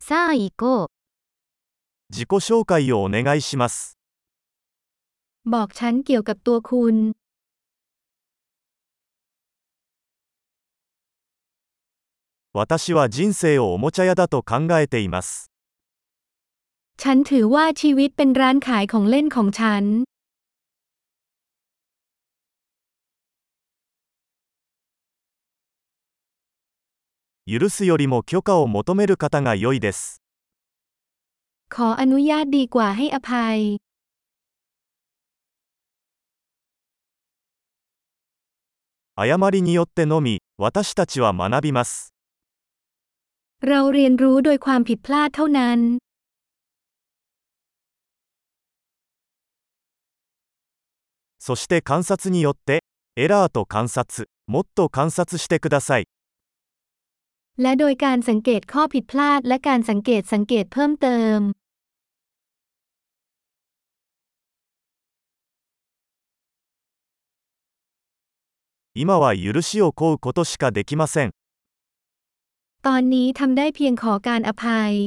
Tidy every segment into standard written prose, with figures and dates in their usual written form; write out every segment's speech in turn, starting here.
さあ行こう。 自己紹介をお願いします。 บอกฉันเกี่ยวกับตัวคุณ。 私は人生をおもちゃ屋だと考えています。 ฉันถือว่าชีวิตเป็นร้านขายของเล่นของฉัน。 許すよりも許可を求める方が良いです。 ขออนุญาตดีกว่าให้อภัย。 誤りによってのみ、私たちは学びます。 เราเรียนรู้โดยความผิดพลาดเท่านั้น。 そして観察によって、エラーと観察、もっと観察してください。 และโดยการสังเกตข้อผิดพลาดและการสังเกตเพิ่มเติม。 今は許しを請うことしかできません。 ตอนนี้ทำได้เพียงขอการอภัย。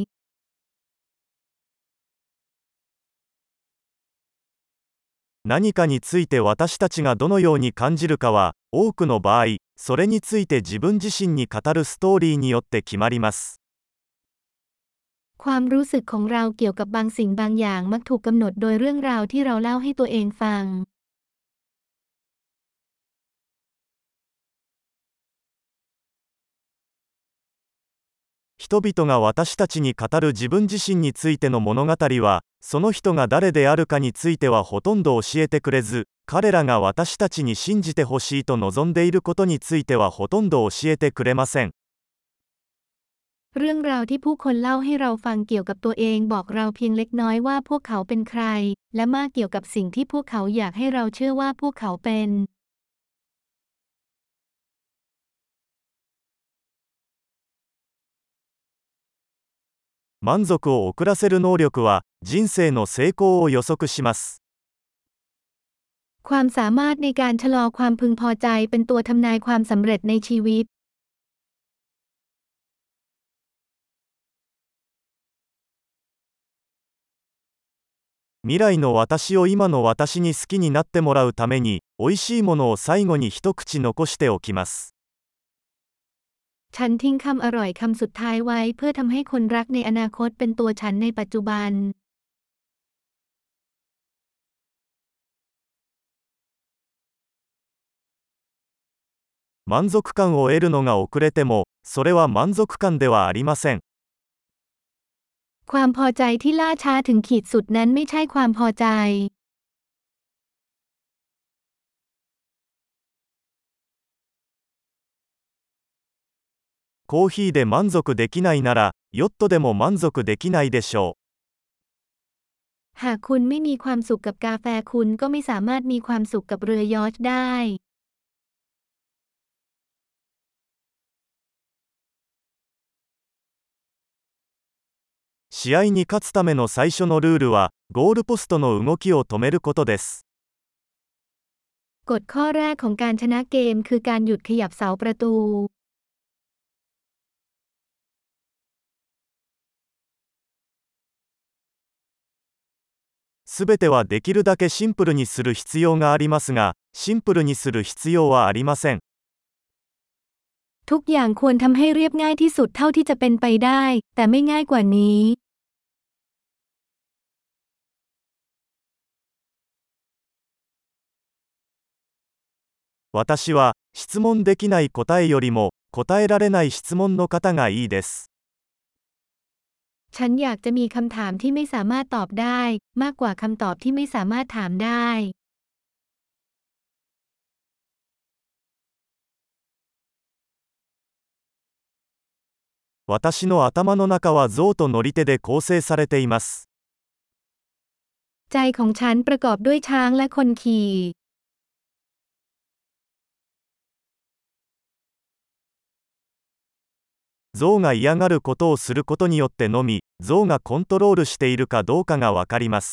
何かについて私たちがどのように感じるかは、多くの場合、それについて自分自身に語るストーリーによって決まります。 ความรู้สึกของเราเกี่ยวกับบางสิ่งบางอย่างมักถูกกำหนดโดยเรื่องราวที่เราเล่าให้ตัวเองฟัง。 人々が私たちに語る自分自身についての物語は、その人が誰であるかについてはほとんど教えてくれず、彼らが私たちに信じてほしいと望んでいることについてはほとんど教えてくれません。 เรื่องราวที่ผู้คนเล่าให้เราฟังเกี่ยวกับตัวเองบอกเราเพียงเล็กน้อยว่าพวกเขาเป็นใครและมากเกี่ยวกับสิ่งที่พวกเขาอยากให้เราเชื่อว่าพวกเขาเป็น。 満足を遅らせる能力は人生の成功を予測します。 ความสามารถในการชะลอความพึงพอใจเป็นตัวทำนายความสำเร็จในชีวิต。 未来の私を今の私に好きになってもらうために、美味しいものを最後に一口残しておきます。 ฉันทิ้งคำอร่อยคำสุดท้ายไว้เพื่อทำให้คนรักในอนาคตเป็นตัวฉันในปัจจุบัน。 満足感を得るのが遅れても、それは満足感ではありません。 ความพอใจที่ล่าช้าถึงขีดสุดนั้นไม่ใช่ความพอใจ。 コーヒーで満足できないなら、ヨットでも満足できないでしょう。หากคุณไม่มีความสุขกับกาแฟคุณก็ไม่สามารถมีความสุขกับเรือยอชท์ได้。 試合に勝つための最初のルールは、ゴールポストの動きを止めることです。 กฎข้อแรกของการชนะเกมคือการหยุดขยับเสาประตู。 すべてはできるだけシンプルにする必要がありますが、シンプルにする必要はありません。 ทุกอย่างควรทำให้เรียบง่ายที่สุดเท่าที่จะเป็นไปได้แต่ไม่ง่ายกว่านี้。 私は質問できない答えよりも答えられない質問の方がいいです。 ฉันอยากจะมีคำถามที่ไม่สามารถตอบได้มากกว่าคำตอบที่ไม่สามารถถามได้。 私の頭の中は象と乗り手で構成されています。 ใจของฉันประกอบด้วยช้างและคนขี่。 象が嫌がることをすることによってのみ、象がコントロールしているかどうかがわかります。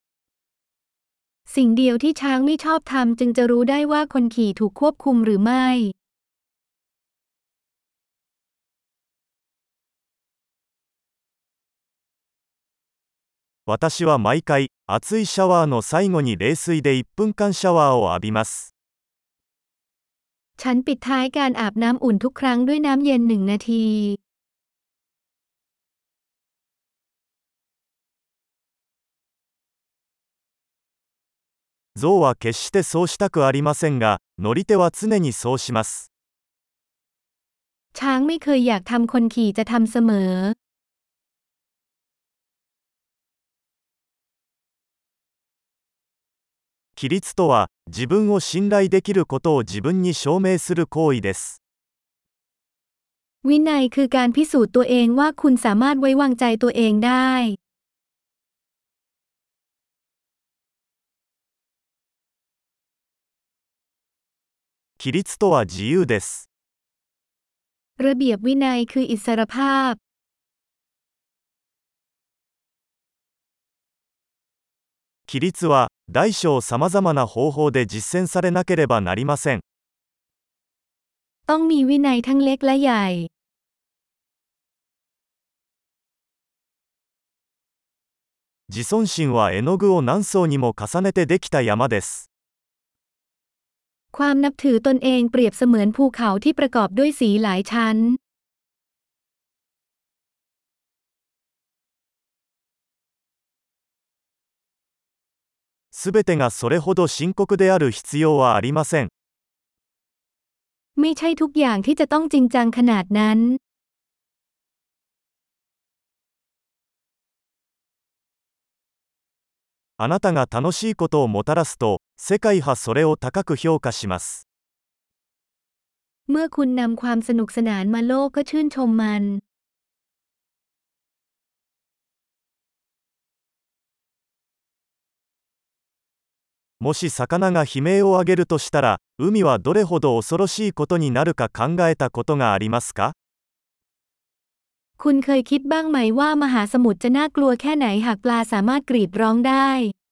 สิ่งเดียวที่ช้างไม่ชอบทำจึงจะรู้ได้ว่าคนขี่ถูกควบคุมหรือไม่。 私は毎回、熱いシャワーの最後に冷水で1分間シャワーを浴びます。 ฉันปิดท้ายการอาบน้ำอุ่นทุกครั้งด้วยน้ำเย็น1 นาที象は決してそうしたくありませんが、乗り手は常にそうします。 ช้างไม่เคยอยากทำคนขี่จะทำเสมอ規律とは、自分を信頼できることを自分に証明する行為です。 วินัยคือการพิสูจน์ตัวเองว่าคุณสามารถไว้วางใจตัวเองได้規律とは自由です。 ระเบียบวินัยคืออิสรภาพ規律は、大小さまざまな方法で実践されなければなりません。 ต้องมีวินัยทั้งเล็กและใหญ่自尊心は絵の具を何層にも重ねてできた山です。 ความนับถือตนเองเปรียบเสมือนภูเขาที่ประกอบด้วยสีหลายชั้นすべてがそれほど深刻である必要はありません。 ไม่ใช่ทุกอย่างที่จะต้องจริงจังขนาดนั้นあなたが楽しいことをもたらすと、世界はそれを高く評価します。 เมื่อคุณนำความสนุกสนานมาโลกก็ชื่นชมมันもし魚が悲鳴を上げるとしたら、海はどれほど恐ろしいことになるか考えたことがありますか？ คุณเคยคิดบ้างไหมว่ามหาสมุทรจะน่ากลัวแค่ไหนหากปลาสามารถกรีดร้องได้